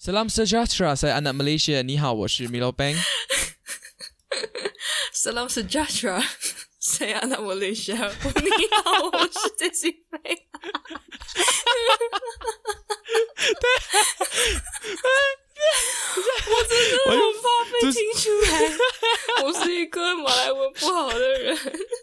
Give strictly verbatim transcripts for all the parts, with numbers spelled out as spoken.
Salam sejahtera, saya anak Malaysia. 你好，我是 Milo Bang. Salam sejahtera, saya anak Malaysia. 你好，我是 Jessie Fei. 我真的很怕被听出来，我是一个马来文不好的人。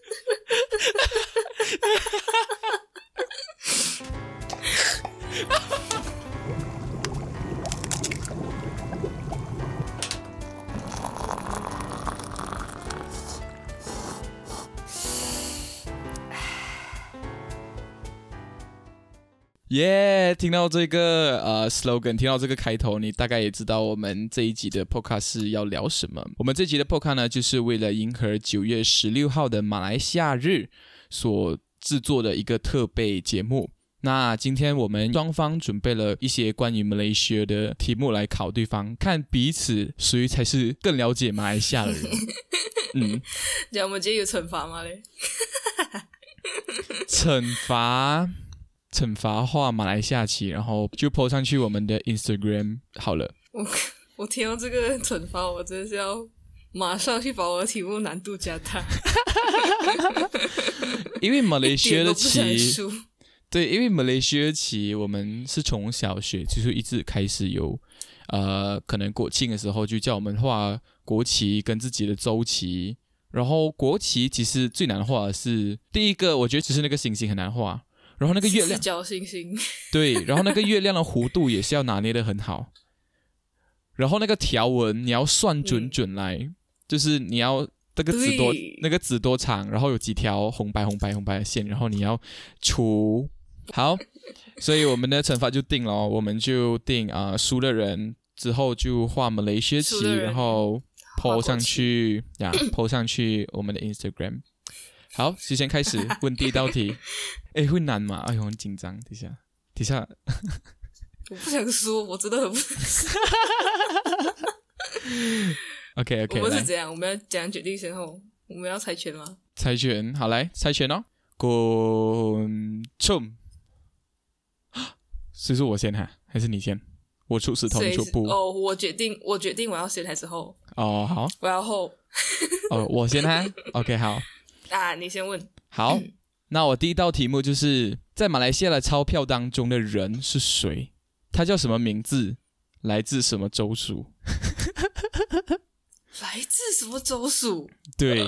耶、yeah, 听到这个呃 slogan， 听到这个开头，你大概也知道我们这一集的 podcast 是要聊什么。我们这集的 podcast 呢，就是为了迎合九月十六号的马来西亚日所制作的一个特备节目。那今天我们双方准备了一些关于马来西亚的题目来考对方，看彼此谁才是更了解马来西亚的人。嗯， 这样我们今天有惩罚吗嘞？ 惩罚。惩罚画马来西亚旗，然后就 po 上去我们的 Instagram 好了。 我我听到这个惩罚，我真的是要马上去把我的题目难度加大。 因为马来西亚的旗，对，因为马来西亚的旗，我们是从小学就是一直开始有，呃，可能国庆的时候就叫我们画国旗跟自己的州旗，然后国旗其实最难画的是第一个，我觉得只是那个星星很难画。然后那个月亮， 四角星星， 对，然后那个月亮的弧度也是要拿捏得很好，然后那个条纹你要算准准来，嗯、就是你要那个纸多那个纸多长，然后有几条红白红白红白的线，然后你要除好，所以我们的惩罚就定了、哦，我们就定啊、呃，输的人之后就画马来西亚旗，然后 po 上去呀 ，po 上去我们的 Instagram。好，就先开始问第一道题。诶，会难吗？哎呦，很紧张。等一下，等一下。 我不想说，我真的很不想说。 OK OK， 我们是怎样？我们要怎样决定先后？我们要猜拳吗？ 猜拳，好来猜拳哦。滚冲！所以说我先哈，还是你先？我出石头，你出布。 哦，我决定，我决定我要先还是后？ 哦，好。 我要后。 哦，我先哈。OK， 好。 啊，你先问。 好，那我第一道题目就是在马来西亚的钞票当中的人是谁？他叫什么名字？来自什么州属？ 来自什么州属？ 对。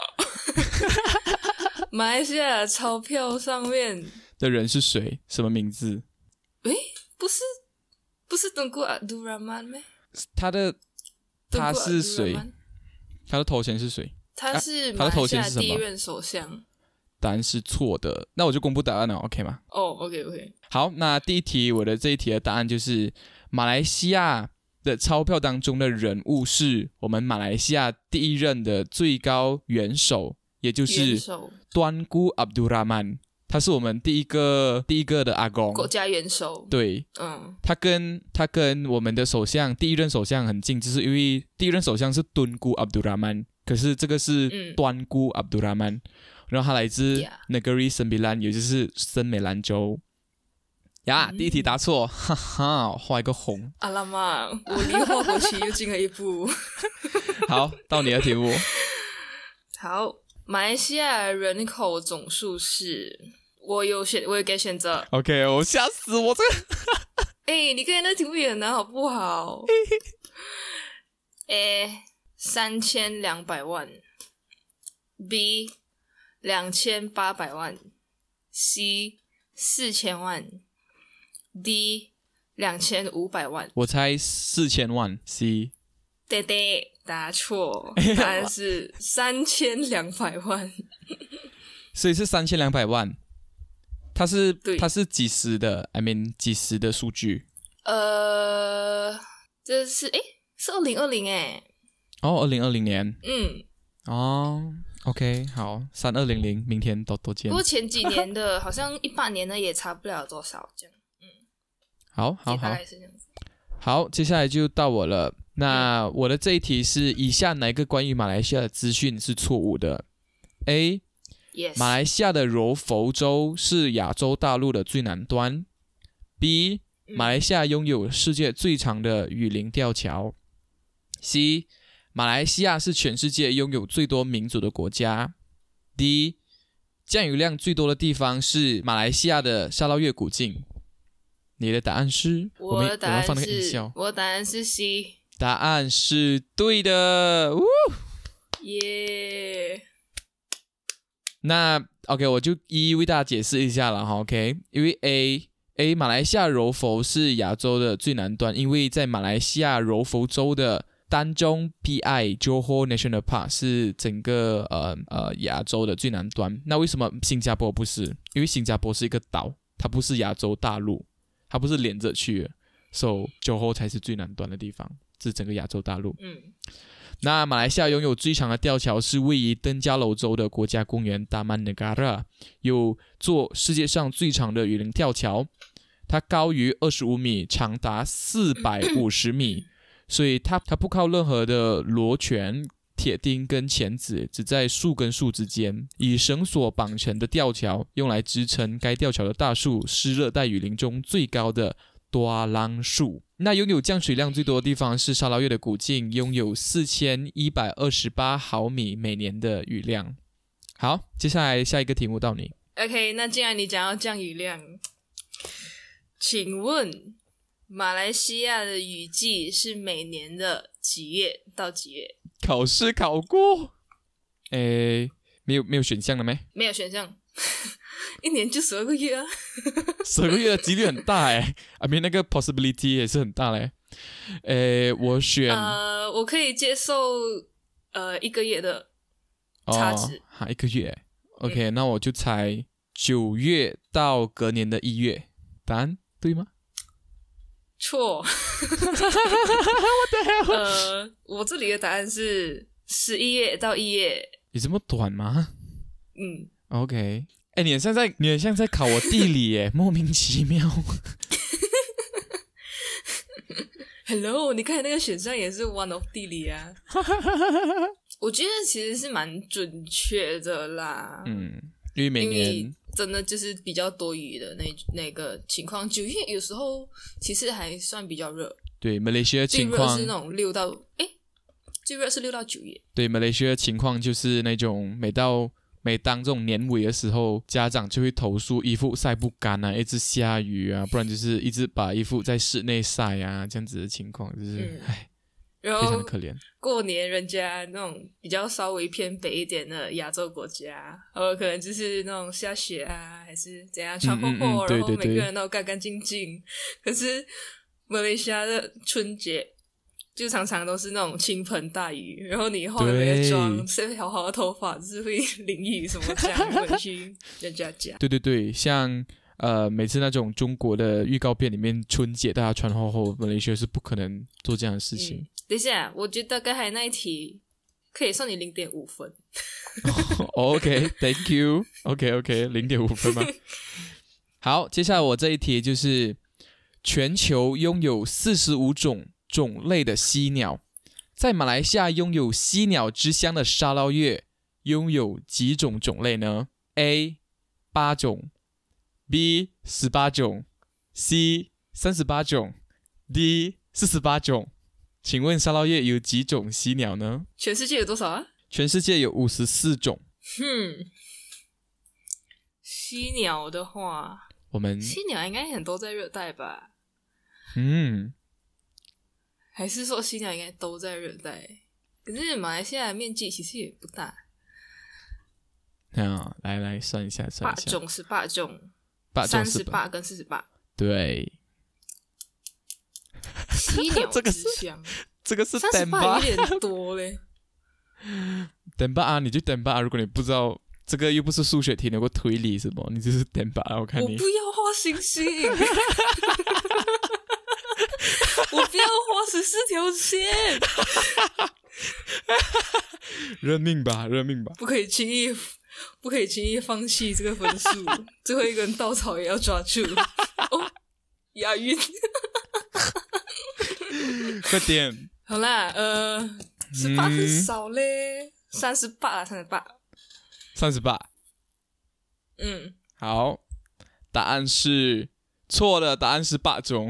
马来西亚的钞票上面的人是谁？什么名字？ 诶，不是，不是敦古阿杜拉曼咩？ 他的他是谁？他的头衔是谁？ 他是马来西亚第一任首相。 答案是错的，那我就公布答案了 ，OK 吗？ 哦、oh, ，OK OK。 好，那第一题我的这一题的答案就是马来西亚的钞票当中的人物是我们马来西亚第一任的最高元首，也就是端姑阿卜杜拉曼，他是我们第一个第一个的阿公， 国家元首。 对，嗯，他跟他跟我们的首相第一任首相很近，就是因为第一任首相是敦姑阿卜杜拉曼，可是这个是端姑阿卜杜拉曼。嗯，然后他来自 Negeri Sembilan， 也就是森美兰州。呀，嗯、第一题答错，哈哈，画一个红。 阿拉妈，我离画国旗又进了一步。 好，到你的题目。 好，马来西亚人口总数是，我有选，我有给选择。 OK， 我吓死我这个。 哎，你看那题目也很难，好不好？A 三千两百万 ，B。两千八百万 ，C 四千万 ，D 两千五百万。 我猜四千万 ，C。 对对，答错，答案是三千两百万。 所以是三千两百万，它是它是几时的 ？I mean 几时的数据？ 呃，这是诶，是二零二零诶。 哦，二零二零年。 嗯。 哦。OK， 好，三二零零，明天多多见。 不过前几年的，好像一八年的也差不了多少，这样。嗯， 好，好，好， 大概是这样子。 好，接下来就到我了。那我的这一题是：以下哪一个关于马来西亚的资讯是错误的 ？A， yes. 马来西亚的柔佛州是亚洲大陆的最南端。B， 马来西亚拥有世界最长的雨林吊桥。C. 马来西亚是全世界拥有最多民族的国家。D. 降雨量最多的地方是马来西亚的沙捞越古晋。你的答案是？ 我的答案是， 我, 我, 放那个音效我的答案是 C。 答案是对的， 耶！ Yeah. 那 OK， 我就一一为大家解释一下了哈。OK， 因为 A A 马来西亚柔佛是亚洲的最南端，因为在马来西亚柔佛州的丹中 P I Johor National Park 是整个呃呃亚洲的最南端。那为什么新加坡不是？因为新加坡是一个岛，它不是亚洲大陆，它不是连着去的，所以 Johor 才是最南端的地方。是整个亚洲大陆。 嗯， 那马来西亚拥有最长的吊桥是位于登嘉楼州的国家公园 Taman Negara， 有座世界上最长的雨林吊桥，它高于二十五米，长达四百五十米，所以它它不靠任何的螺旋、铁钉跟钳子，只在树跟树之间，以绳索绑成的吊桥用来支撑该吊桥的大树是热带雨林中最高的多朗树。那拥有降水量最多的地方是沙捞越的古晋，拥有四千一百二十八毫米每年的雨量。好，接下来下一个题目到你。 OK， 那既然你讲要降雨量，请问马来西亚的雨季是每年的几月到几月？ 考试考过。诶，没有没有选项了没？ 没有选项。一年就十二个月啊， 十二个月的几率很大哎，I mean 那个 possibility 也是很大嘞。诶，我选呃，我可以接受呃一个月的差值， 哈、哦，一个月 ，OK，、嗯、那我就猜九月到隔年的一月，答案对吗？ 错。呃，我这里的答案是十一月到一月。 有这么短吗？ 嗯 ，OK。哎，你很像在，你很像在考我地理耶，莫名其妙。 Hello， 你看那个选项也是 one of 地理啊。我觉得其实是蛮准确的啦。 嗯，因为每年因为真的就是比较多雨的那那个情况，九月有时候其实还算比较热。 对，马来西亚情况最热是那种六到哎，最热是六到九月。 对，马来西亚情况就是那种每到。每当这种年尾的时候，家长就会投诉衣服晒不干啊，一直下雨啊，不然就是一直把衣服在室内晒啊，这样子的情况就是，唉、 嗯， 非常的可怜。 过年人家那种比较稍微偏北一点的亚洲国家，呃，可能就是那种下雪啊，还是怎样穿厚厚，然后每个人都干干净净。可是马来西亚的春节。就常常都是那种倾盆大雨，然后你化了没的妆，晒好好的头发，就是会淋雨什么这样回去人家家。 对对对，像呃每次那种中国的预告片里面，春节大家穿厚厚，马来西亚是不可能做这样的事情。 嗯、等一下，我觉得刚才那一题可以算你零点五分。 OK，Thank you。OK OK， 零点五分吗？好，接下来我这一题就是全球拥有四十五种。种类的犀鸟，在马来西亚拥有犀鸟之乡的沙捞越拥有几种种类呢 ？A. 八种 B. 十八种 C. 三十八种 D. 四十八种。请问沙捞越有几种犀鸟呢？ 全世界有多少啊？ 全世界有五十四种。 哼，犀鸟的话， 我们犀鸟应该很多在热带吧？ 嗯。 还是说犀鸟应该都在热带？可是马来西亚的面积其实也不大。 啊，来来算一下，算一下。 八种是八种， 八种三十八跟四十八。 对。 犀鸟之乡， 这个是三十八有点多嘞。 等吧啊，你就等吧啊！如果你不知道这个又不是数学题，有个推理什么，你就是等吧啊！我看你。 我不要画星星。我不要画十四条线。 认命吧，认命吧！ 不可以轻易，不可以轻易放弃这个分数。最后一根稻草也要抓住。哦，押韵。 快点！ 好啦，呃，十八很少嘞，三十八，三十八， 三十八。 嗯， 好，答案是错的，答案是八种。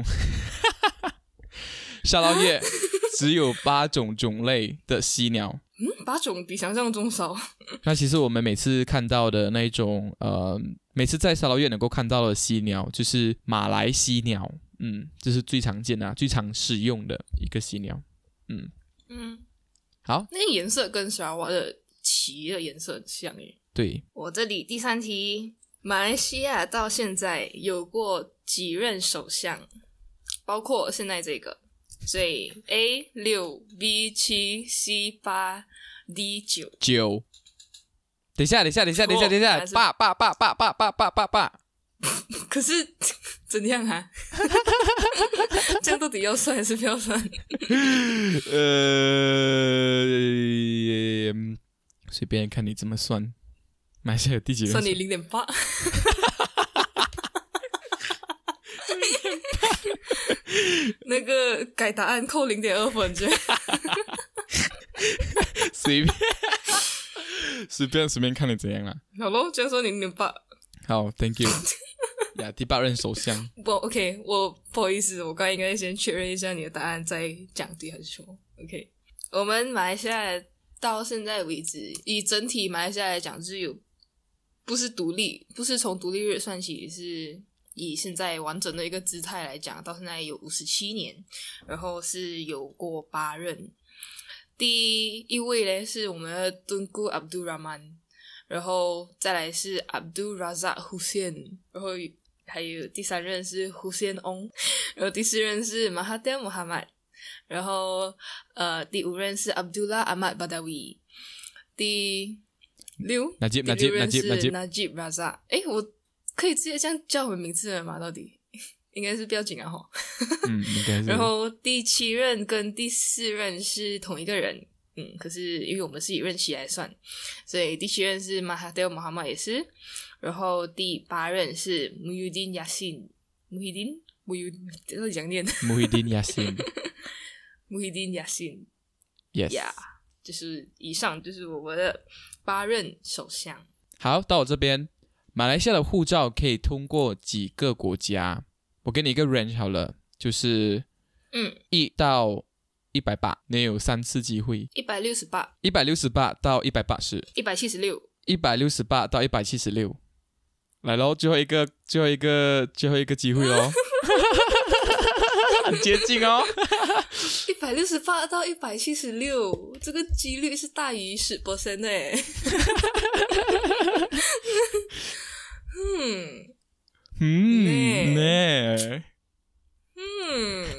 沙捞越只有八种种类的犀鸟。 嗯，八种比想象中少。 那其实我们每次看到的那一种，呃，每次在沙捞越能够看到的犀鸟，就是马来犀鸟，嗯，这是最常见的、啊、最常使用的一个犀鸟，嗯嗯， 好， 那颜色跟沙瓦的旗的颜色很像耶。 对， 我这里第三题，马来西亚到现在有过几任首相？包括现在这个。所以 A 六 B 七 C 八 D 九九。等一下，等一下，等一下，等一下，等一下，八八八八八八八八八。 可是怎样啊？这样到底要算还是不要算？ 呃，随便看你怎么算。马来西亚有第几人？ 算你零点八。那个改答案扣零点二分就随便随便随便看你怎样啦。 好咯，这样说你零点八。 好 ，Thank you 呀，第八任首相。 不 ，OK， 我不好意思，我刚才应该先确认一下你的答案，再讲对还是错。OK， 我们马来西亚到现在为止，以整体马来西亚来讲，就是有不是独立，不是从独立日算起，是以现在完整的一个姿态来讲，到现在有五十七年，然后是有过八任。第一位呢是我们的敦固 Abdul Rahman， 然后再来是 Abdul Razak Hussein， 然后还有第三任是 Hussein Ong， 然后第四任是 Mahathir Mohamad， 然后呃第五任是 Abdullah Ahmad Badawi， 第六 Najib 第六任是 Najib Najib Razak。 诶，我可以直接这样叫我们名字了吗？到底应该是不要紧啊齁。 嗯，应该是。 然后第七任跟第四任是同一个人，嗯，可是因为我们是以任期来算，所以第七任是 Mahathir Mohamad 也是，然后第八任是 Muhyiddin Yassin Muhyiddin Muhyiddin 这是讲念 Muhyiddin Yassin Muhyiddin Yassin Yes yeah， 就是以上就是我们的八任首相。 好，到我这边，马来西亚的护照可以通过几个国家？我给你一个 range 好了，就是嗯， 一到一百八，你有三次机会。 一百六十八， 一百六十八到一百八十， 一百七十六， 一百六十八到一百七十六。来咯，最后一个，最后一个，最后一个机会咯。很接近哦。 一百六十八到一百七十六，这个几率是大于十 percent 的耶。嗯嗯呢， 嗯，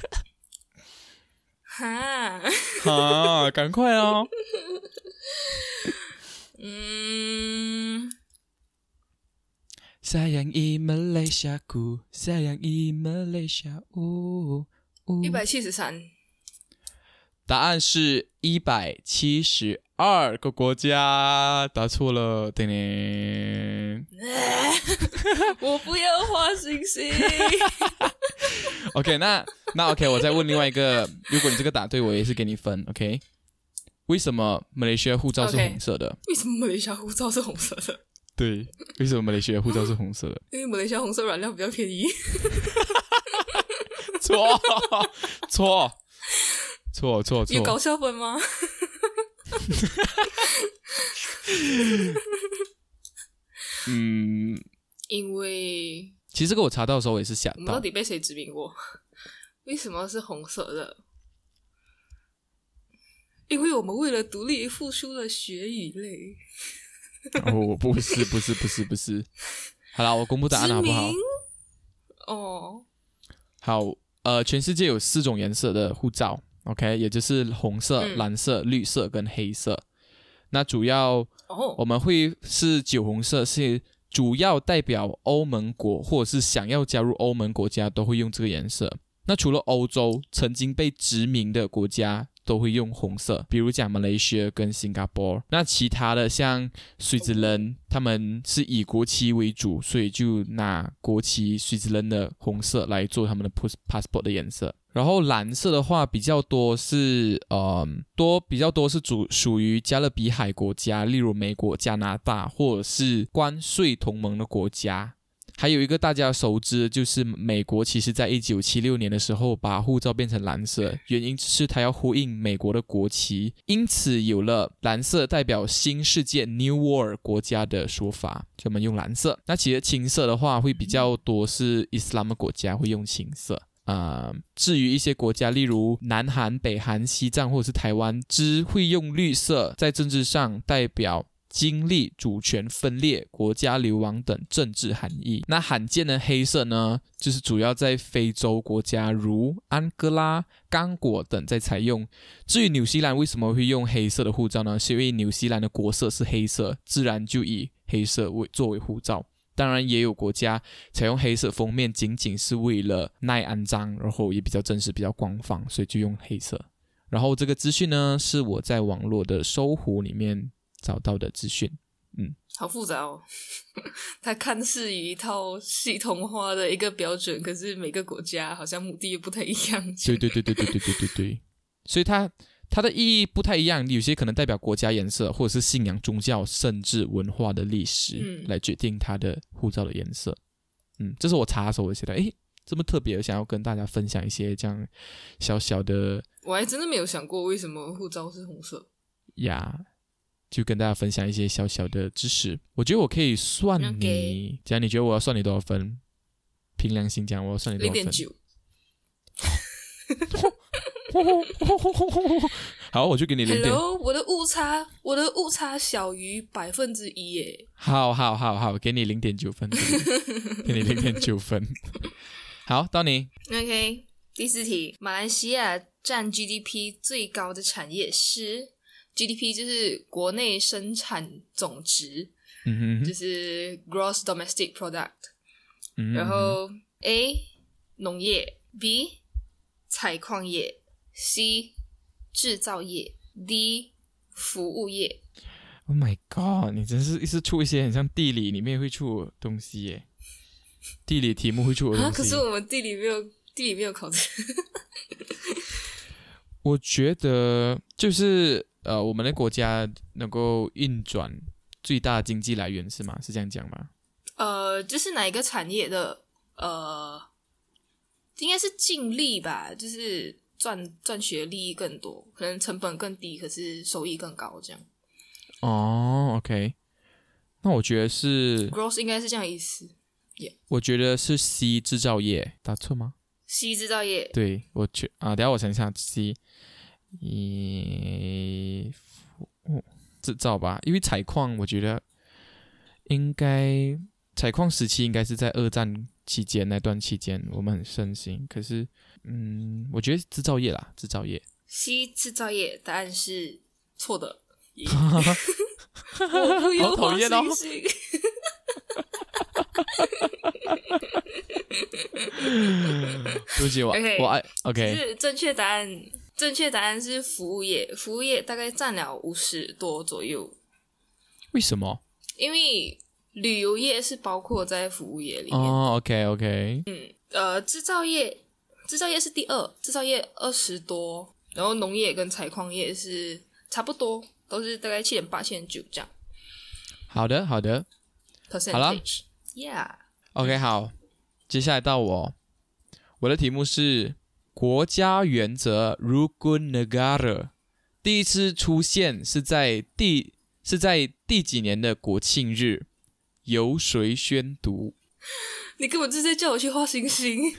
哈， 哈，赶快哦。 嗯 Sayangi Malaysiaku, sayangi Malaysia， 呜呜。 一百七十三， 答案是一百七十二个国家，答错了，叮叮。 我不要画星星。 OK， 那那 OK， 我再问另外一个，如果你这个答对，我也是给你分。OK， 为什么马来西亚护照是红色的？ Okay， 为什么马来西亚护照是红色的？ 对，为什么马来西亚护照是红色的？ 因为马来西亚红色染料比较便宜。 错错错错错！ 有搞笑分吗？ 嗯， 因为其实这个我查到的时候我也是想我们到， 到底被谁殖民过？为什么是红色的？因为我们为了独立付出了血与泪。 哦，不是不是不是不是。好啦，我公布答案好不好？ 哦， 好，呃，全世界有四种颜色的护照 ，OK， 也就是红色、 嗯、 蓝色、绿色跟黑色。那主要哦， 我们会是酒红色，是主要代表欧盟国或者是想要加入欧盟国家都会用这个颜色。那除了欧洲曾经被殖民的国家都会用红色，比如讲马来西亚跟新加坡。那其他的像瑞士人，他们是以国旗为主，所以就拿国旗瑞士人的红色来做他们的 passport 的颜色。然后蓝色的话比较多是呃多比较多是主属于加勒比海国家，例如美国、加拿大或者是关税同盟的国家。 还有一个大家熟知，就是美国其实在一九七六年的时候把护照变成蓝色，原因是它要呼应美国的国旗，因此有了蓝色代表新世界 New World 国家的说法，就我们用蓝色。那其实青色的话会比较多是伊斯兰的国家会用青色。呃，至于一些国家，例如南韩、北韩、西藏或者是台湾，只会用绿色，在政治上代表经历主权分裂、国家流亡等政治含义。那罕见的黑色呢，就是主要在非洲国家如安哥拉、刚果等在采用。至于纽西兰为什么会用黑色的护照呢？是因为纽西兰的国色是黑色，自然就以黑色为作为护照。当然也有国家采用黑色封面，仅仅是为了耐肮脏，然后也比较正式、比较官方，所以就用黑色。然后这个资讯呢，是我在网络的搜狐里面找到的资讯。嗯， 好复杂哦。它看似一套系统化的一个标准，可是每个国家好像目的也不太一样。 对对对对对对对对对，所以它它的意义不太一样，有些可能代表国家颜色，或者是信仰、宗教，甚至文化的历史、嗯、来决定它的护照的颜色。嗯，这是我查的时候我觉得，诶，这么特别，想要跟大家分享一些这样小小的。 我还真的没有想过为什么护照是红色呀。Yeah, 就跟大家分享一些小小的知识。我觉得我可以算你， okay. 假如你觉得我要算你多少分？凭良心讲，我要算你多少分？ 零点九。 好，我就给你零点。 Hello， 我的误差，我的误差小于百分之一耶。 好好好好，给你零点九分，给你零点九分。好，到你。 OK， 第四题，马来西亚占 G D P 最高的产业是 G D P 就是国内生产总值， 嗯哼， 就是 Gross Domestic Product。 嗯哼， 然后 A 农业 ，B 采矿业 ，C 制造业 ，D 服务业。 Oh my god！ 你真是一直出一些很像地理里面会出的东西耶，地理题目会出的东西。 啊，可是我们地理没有，地理没有考这个。 我觉得就是呃，我们的国家能够运转最大的经济来源是吗？是这样讲吗？ 呃，就是哪一个产业的呃，应该是净利吧，就是赚赚取的利益更多，可能成本更低，可是收益更高，这样。 哦 ，OK， 那我觉得是 gross 应该是这样的意思。Yeah. 我觉得是 C 制造业，答错吗 ？C 制造业， 对，我觉啊，等一下我想一下 C， 一、哦、制造吧，因为采矿我觉得应该。采矿时期应该是在二战期间那段期间，我们很盛行。可是，嗯，我觉得制造业啦，制造业。 C 制造业答案是错的。我不有好讨厌哦！对不起我， okay, 我爱 OK。 是正确答案，正确答案是服务业，服务业大概占了五十多左右。 为什么？ 因为旅游业是包括在服务业里面。 哦 ，OK OK。 嗯，呃，制造业，制造业是第二，制造业二十多，然后农业跟采矿业是差不多，都是大概七点八、七点九这样。 好的，好的。 percentage， 好了 ，Yeah。 OK， 好，接下来到我，我的题目是国家原则 Rukun Negara 第一次出现是在第是在第几年的国庆日？由谁宣读？ 你根本就是在叫我去画星星。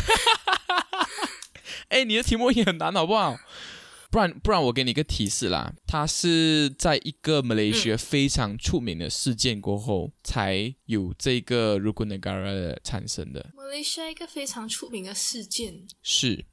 哎，你的题目也很难，好不好？不然不然，我给你一个提示啦，它是在一个马来西亚非常出名的事件过后，嗯、才有这个 Rukun Negara 产生的。 马来西亚一个非常出名的事件是。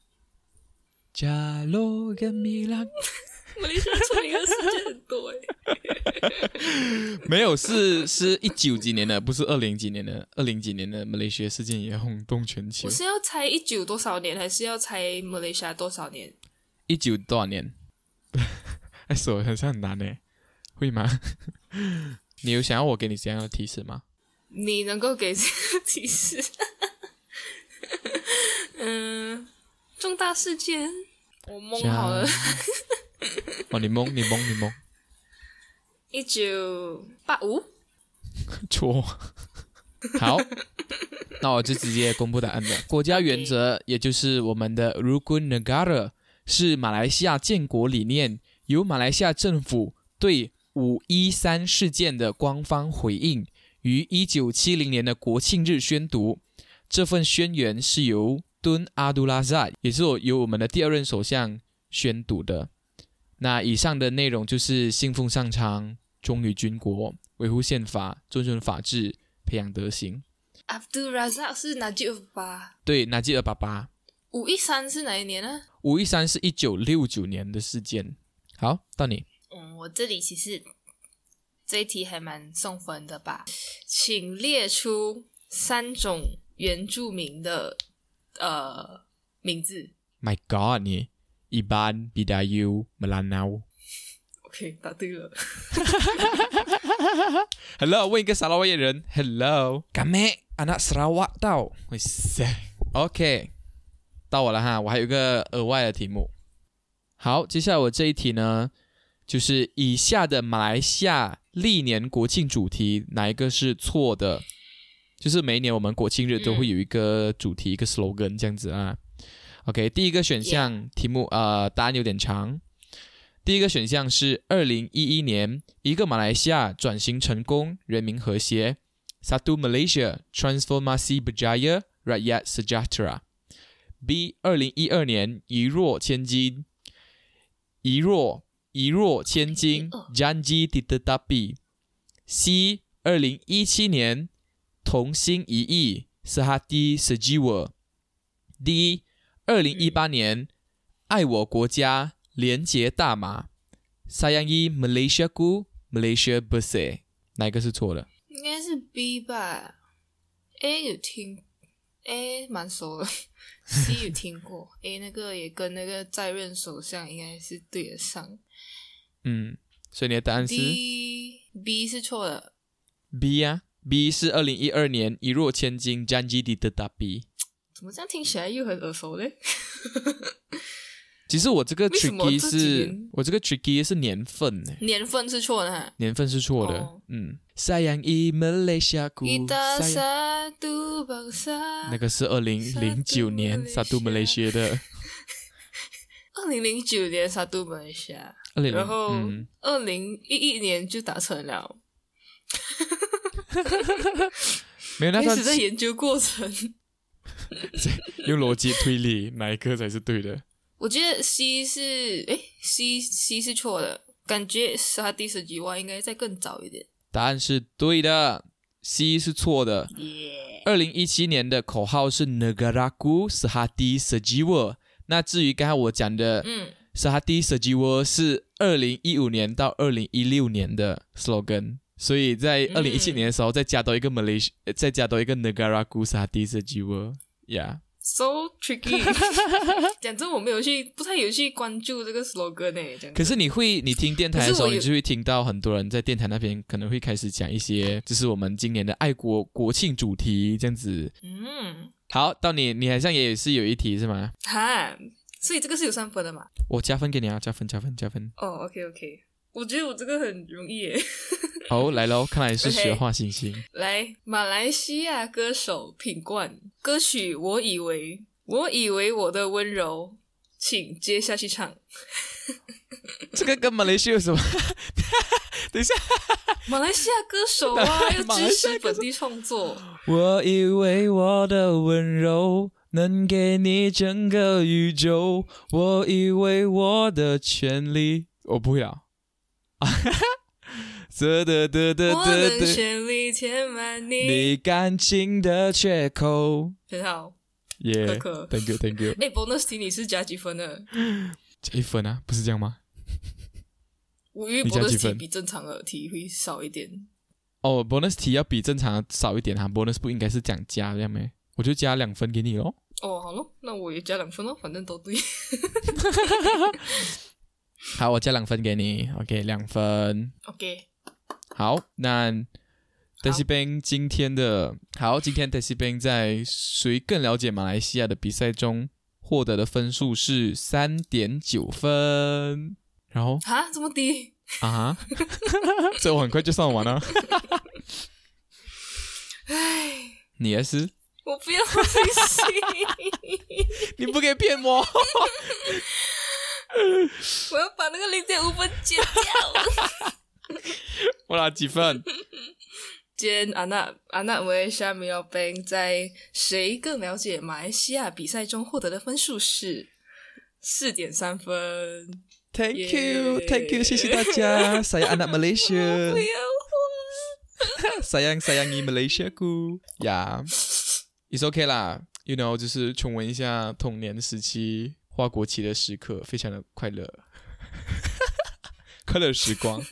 加罗跟米兰。 马来西亚出名的事件很多哎。 没有，是是一九几年的，不是二零几年的，二零几年的马来西亚事件也轰动全球。 我是要猜一九多少年，还是要猜马来西亚多少年？ 一九多少年？哎，手好像很难诶，会吗？你有想要我给你怎样的提示吗？ 你能够给这个提示？嗯，重大事件，我蒙好了。 哦，你蒙，你蒙，你蒙。 一九八五？ 错。 好，那我就直接公布答案了。国家原则，也就是我们的 Rukun Negara， 是马来西亚建国理念，由马来西亚政府对五一三事件的官方回应，于一九七零年的国庆日宣读。这份宣言是由敦阿杜拉扎，也是由我们的第二任首相宣读的。那以上的内容就是信奉上苍，忠于军国，维护宪法，遵循法治，培养德行。 Abdul Razak 是纳吉尔巴， 对，纳吉尔爸爸。 五一三是哪一年呢？ 五一三是一九六九年的事件。好，到你。 嗯，我这里其实这一题还蛮送分的吧，请列出三种原住民的呃名字。 My God， 你Iban, Bidayuh, Melanau。 OK， 答对了。 Hello， 问一个沙拉越人。 Hello， Kami anak Sarawak tau。 OK， 到我了哈，我还有一个额外的题目。好，接下来我这一题呢，就是以下的马来西亚历年国庆主题哪一个是错的？就是每一年我们国庆日都会有一个主题、嗯、一个 slogan 这样子啊。OK， 第一个选项、yeah. 题目呃答案有点长。第一个选项是二零一一年一个马来西亚转型成功，人民和谐 Satu Malaysia Transformasi Berjaya Rakyat Sejahtera。 B 二零一二年一若千金，一若一若千金 Janji Ditetapi。 C 二零一七年同心一意 Sehati Sejiwa。 D 二零一八年爱我国家，廉洁大马 Sayangi Malaysiaku Malaysia Bersih。 哪一个是错的？ 应该是 B 吧。 A 有听 A 蛮熟的C 有听过A 那个也跟那个在任首相应该是对得上。 嗯，所以你的答案是 D B 是错的。 B 啊 B 是二零一二年一若千金 Janji Ditetapi。 怎么这样听起来又很耳熟嘞？ 其实我这个 tricky 是我这个 tricky 是年份， 年份是错的哈， 年份是错的。哦、嗯 Sayangi Malaysiaku Kita satu bangsa， 那个是二零零九年 Satu Malaysia 的。 二零零九年 Satu Malaysia， 然后二零一一年就达成了。 没有，那开始在研究过程。 用逻辑推理哪一个才是对的？ 我觉得 C 是诶 C C 是错的，感觉是他第十几万应该再更早一点。 答案是对的， C 是错的。二零一七年的口号是 Negaraku Sehati Sejiwa。 那至于刚才我讲的嗯 Sehati Sejiwa 是二零一五年到二零一六年的 slogan， 所以在二零一七年的时候再加多一个 Malaysia，、嗯、再加多一个 Negaraku Sehati Sejiwa。 Yeah，So tricky。 讲真，我没有去，不太有去关注这个 slogan 诶。 可是你会，你听电台的时候，你就会听到很多人在电台那边可能会开始讲一些，就是我们今年的爱国国庆主题这样子。嗯，好，到你，你好像也是有一题是吗？ 哈，所以这个是有三分的嘛？ 我加分给你啊，加分，加分，加分。 哦、oh, ，OK OK， 我觉得我这个很容易耶。 好，来咯，看来是学画星星。 Okay, 来，马来西亚歌手品冠，歌曲我以为我以为我的温柔，请接下去唱。 这个跟马来西亚有什么？等一下， 马来西亚歌手啊，要支持本地创作。 我以为我的温柔能给你整个宇宙，我以为我的权利，我不会啊。 我的全力填满你你感情的缺口。 很好， 耶、yeah, 可可 ，Thank you, Thank you。 哎、欸、，bonus 题你是加几分的？ 加一分啊，不是这样吗？ 我以为 bonus 题比正常的题会少一点。 哦 ，bonus 题要比正常的少一点哈 ，bonus 不应该是讲加这样没？我就加两分给你咯。 哦，好咯，那我也加两分咯，反正都对。 好，我加两分给你 ，OK， 两分 ，OK。 好，那 Desi Bang 今天的好，今天 Desi Bang 在谁更了解马来西亚的比赛中获得的分数是 三点九 分，然后啊，这么低啊哈，所以我很快就算完了。 唉， 你也是？ 我不要星星， 你不可以骗我。 我要把那个零点五分剪掉。 我拿几分？ 今天安娜安娜为夏米尔宾在谁更了解马来西亚比赛中获得的分数是四点三分。 Thank you, yeah. Thank you， 谢谢大家。Saya anak Malaysia。 不要花。 sayang sayangi Malaysiaku。呀、yeah. ，It's okay 啦。You know， 就是重温一下童年时期花国旗的时刻，非常的快乐，快乐时光。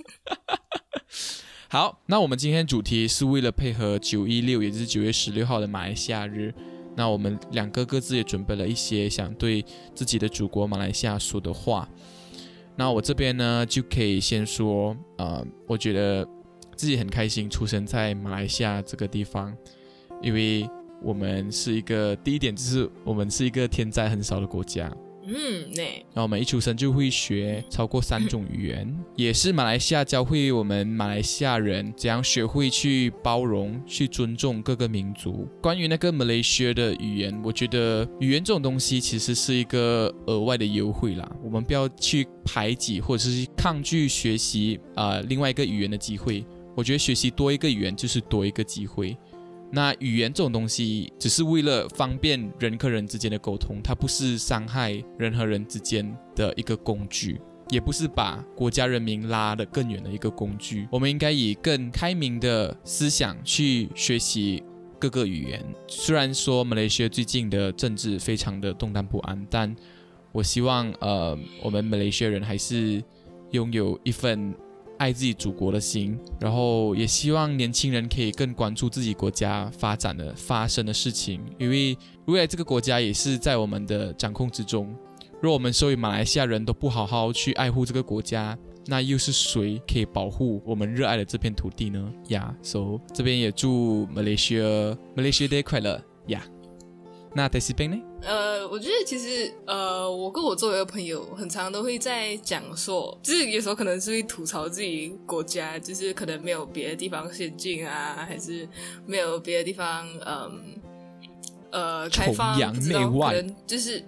好，那我们今天主题是为了配合九一六，也就是九月十六号的马来西亚日。那我们两个各自也准备了一些想对自己的祖国马来西亚说的话。那我这边呢，就可以先说，呃，我觉得自己很开心出生在马来西亚这个地方，因为我们是一个，第一点就是我们是一个天灾很少的国家。 嗯，呢。 然后我们一出生就会学超过三种语言，也是马来西亚教会我们马来西亚人怎样学会去包容、去尊重各个民族。关于那个马来西亚的语言，我觉得语言这种东西其实是一个额外的优惠啦，我们不要去排挤或者是抗拒学习呃另外一个语言的机会。我觉得学习多一个语言就是多一个机会。那语言这种东西只是为了方便人跟人之间的沟通，它不是伤害人和人之间的一个工具，也不是把国家人民拉得更远的一个工具。我们应该以更开明的思想去学习各个语言。虽然说马来西亚最近的政治非常的动荡不安，但我希望呃，我们马来西亚人还是拥有一份爱自己祖国的心，然后也希望年轻人可以更关注自己国家发展的发生的事情，因为未来这个国家也是在我们的掌控之中。若我们所有马来西亚人都不好好去爱护这个国家，那又是谁可以保护我们热爱的这片土地呢？呀、yeah, so 这边也祝马来西亚马来西亚 Day 快乐呀！ Yeah. 那戴西宾呢？ 呃，我觉得其实呃，我跟我周围的朋友很常都会在讲说，就是有时候可能是会吐槽自己国家，就是可能没有别的地方先进啊，还是没有别的地方嗯呃开放， 崇洋媚外， 可能就是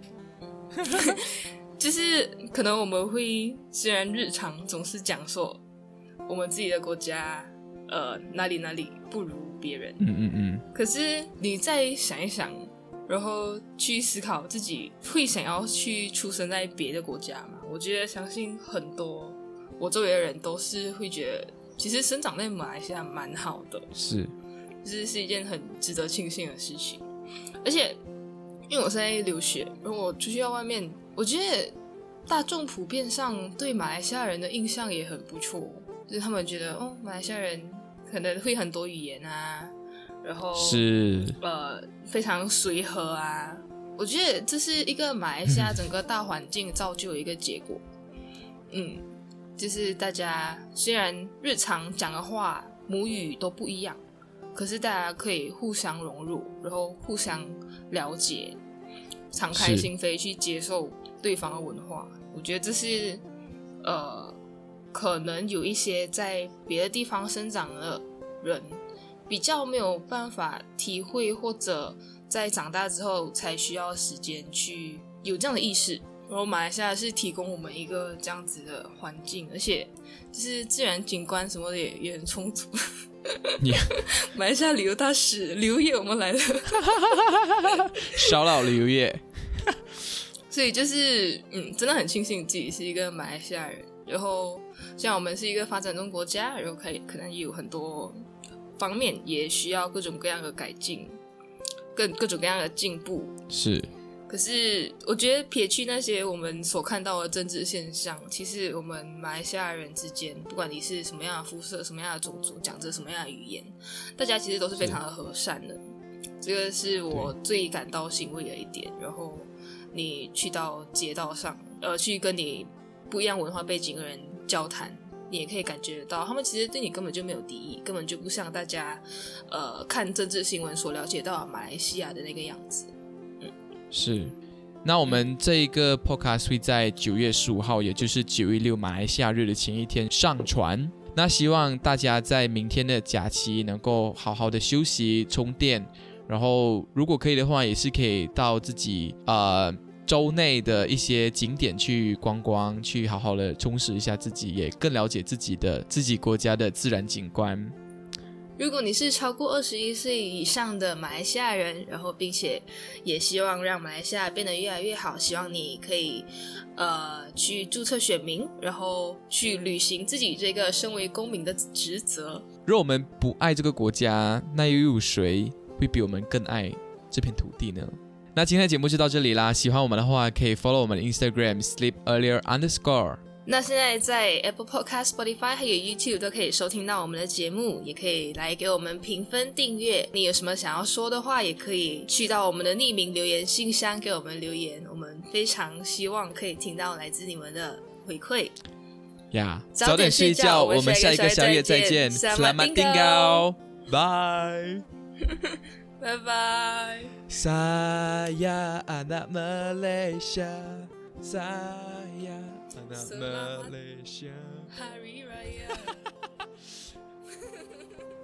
就是可能我们会虽然日常总是讲说我们自己的国家呃哪里哪里不如别人， 嗯嗯嗯， 可是你再想一想。然后去思考自己会想要去出生在别的国家嘛？我觉得相信很多我周围的人都是会觉得，其实生长在马来西亚蛮好的， 是， 就是是一件很值得庆幸的事情。而且因为我在留学，然后我出去到外面，我觉得大众普遍上对马来西亚人的印象也很不错，就是他们觉得哦，马来西亚人可能会很多语言啊。然后是呃非常随和啊，我觉得这是一个马来西亚整个大环境造就的一个结果。嗯，就是大家虽然日常讲的话母语都不一样，可是大家可以互相融入，然后互相了解，敞开心扉去接受对方的文化。我觉得这是呃可能有一些在别的地方生长的人比较没有办法体会，或者在长大之后才需要时间去有这样的意识。然后马来西亚是提供我们一个这样子的环境，而且就是自然景观什么的 也, 也很充足。 Yeah. 马来西亚旅游大使刘烨我们来了。 小老刘烨。 所以就是嗯，真的很庆幸自己是一个马来西亚人，然后像我们是一个发展中国家，然后可以可能也有很多方面也需要各种各样的改进，各各种各样的进步。 是， 可是我觉得撇去那些我们所看到的政治现象，其实我们马来西亚人之间，不管你是什么样的肤色、什么样的种族、讲着什么样的语言，大家其实都是非常的和善的。这个是我最感到欣慰的一点。然后你去到街道上，呃，去跟你不一样文化背景的人交谈，你也可以感觉得到，他们其实对你根本就没有敌意，根本就不像大家呃看政治新闻所了解到马来西亚的那个样子。嗯， 是。那我们这一个 podcast 会在九月十五号，也就是九一六马来西亚日的前一天上传。那那希望大家在明天的假期能够好好的休息充电，然后如果可以的话也是可以到自己呃州内的一些景点去观光，去好好的充实一下自己，也更了解自己的自己国家的自然景观。 如果你是超过二十一岁以上的马来西亚人，然后并且也希望让马来西亚变得越来越好，希望你可以呃去注册选民，然后去履行自己这个身为公民的职责。 若我们不爱这个国家，那又有谁会比我们更爱这片土地呢？那今天的节目就到这里啦，喜欢我们的话可以 follow 我们的 Instagram sleep earlier underscore。 那现在在 Apple Podcast、Spotify 还有 YouTube 都可以收听到我们的节目，也可以来给我们评分订阅。你有什么想要说的话，也可以去到我们的匿名留言信箱给我们留言，我们非常希望可可以听到来自你们的回馈呀。 早早点睡觉，我们下一个宵夜再见。 Selamat tinggal， 拜拜拜。 Saya anak Malaysia, saya anak Malaysia. Hari Raya